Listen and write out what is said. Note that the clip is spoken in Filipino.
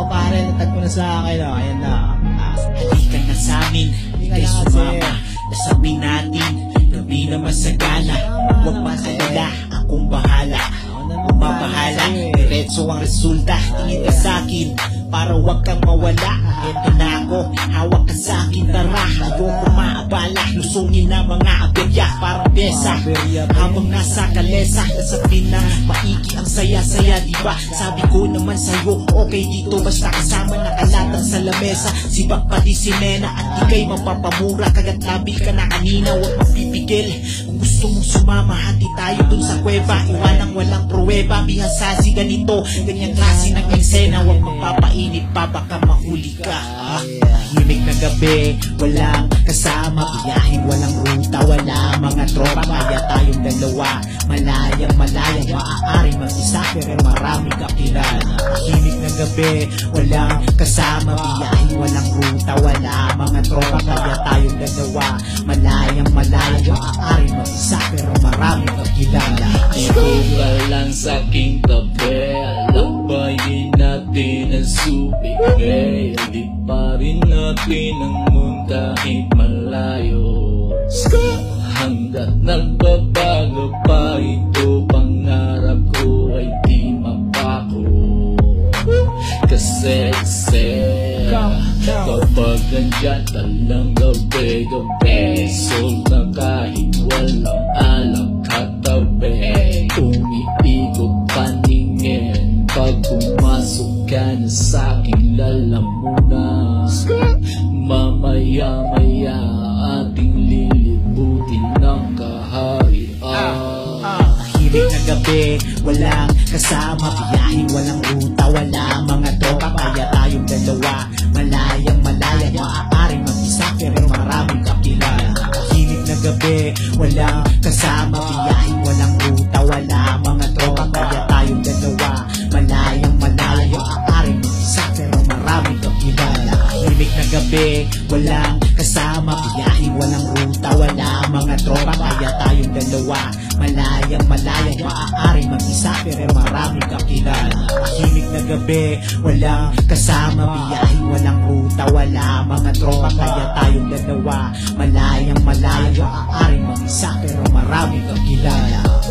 pare, natag mo na sa akin, oh. Ayan na. Halika na sa amin, Halika kay na kasi. sumama. Nasabi natin, gabi na masagana. Huwag makalala, akong bahala. Kung mabahala, diretso ang resulta. Tingin ka sa'kin, para huwag kang mawala. Eto na ako, hawak ka sa'kin, tara. Ayoko maabala, lusungin na mga aberya. Parang besa, habang nasa kalesa. Nasabi na, maiki ang saya-saya, diba? Sabi ko naman sa'yo, okay dito. Basta kasama nakalatag sa lamesa. Sibak pati si Nena, at di kay mapapamura. Kagat labi ka na kanina, huwag mapipigil. Kung gusto mong sumama, hati tayo dun sa kuweba. Iwanang walang pruweba, bihasa si ganito. Ganyang klase ng eksena, huwag magpapainit pa, baka mahuli ka. Himig na gabi, walang kasama. Biyahin, walang ruta, wala mga tropa. Kaya tayong dalawa, malayang maaaring mag-isa, pero marami kakilala. Himig na gabi, walang kasama. Biyahin, walang ruta, wala mga tropa. Kaya tayong dalawa, malayang maaaring mag-isa, pero marami kakilala. Ikaw ka lang sa'king tabi, alabayin natin ang subigay. Di pa rin natin ang mundo kahit malayo. Hanggat nagbabago pa ito, pangarap ko ay di mapako. Kasi kapag nandyan ka lang gabi-gabi, sol na kahit walang alam katabi. Umiikot paningin, pag pumasok ka na sa'king lalamunan. Mamaya-maya ating lilibutin ng kaharian. Tahimik na gabi, walang kasama. Biyahin, walang ruta, wala mga tropa. Kaya tayong dalawa, malayang maaaring mag-isa, pero maraming kakilala. Tahimik na gabi, walang kasama. Biyahin, walang ruta, wala mga tropa. Kaya tayong dalawa, malayang maaaring mag-isa, pero maraming kakilala. Tahimik na gabi, walang kasama. Biyahin, walang ruta, wala mga tropa. Kaya tayong dalawa, malayang maaaring mag-isa, pero maraming kakilala. Tahimik na gabi, walang kasama. Biyahin, walang ruta, wala mga tropa. Kaya tayong dalawa, malayang maaaring mag-isa, pero maraming kakilala.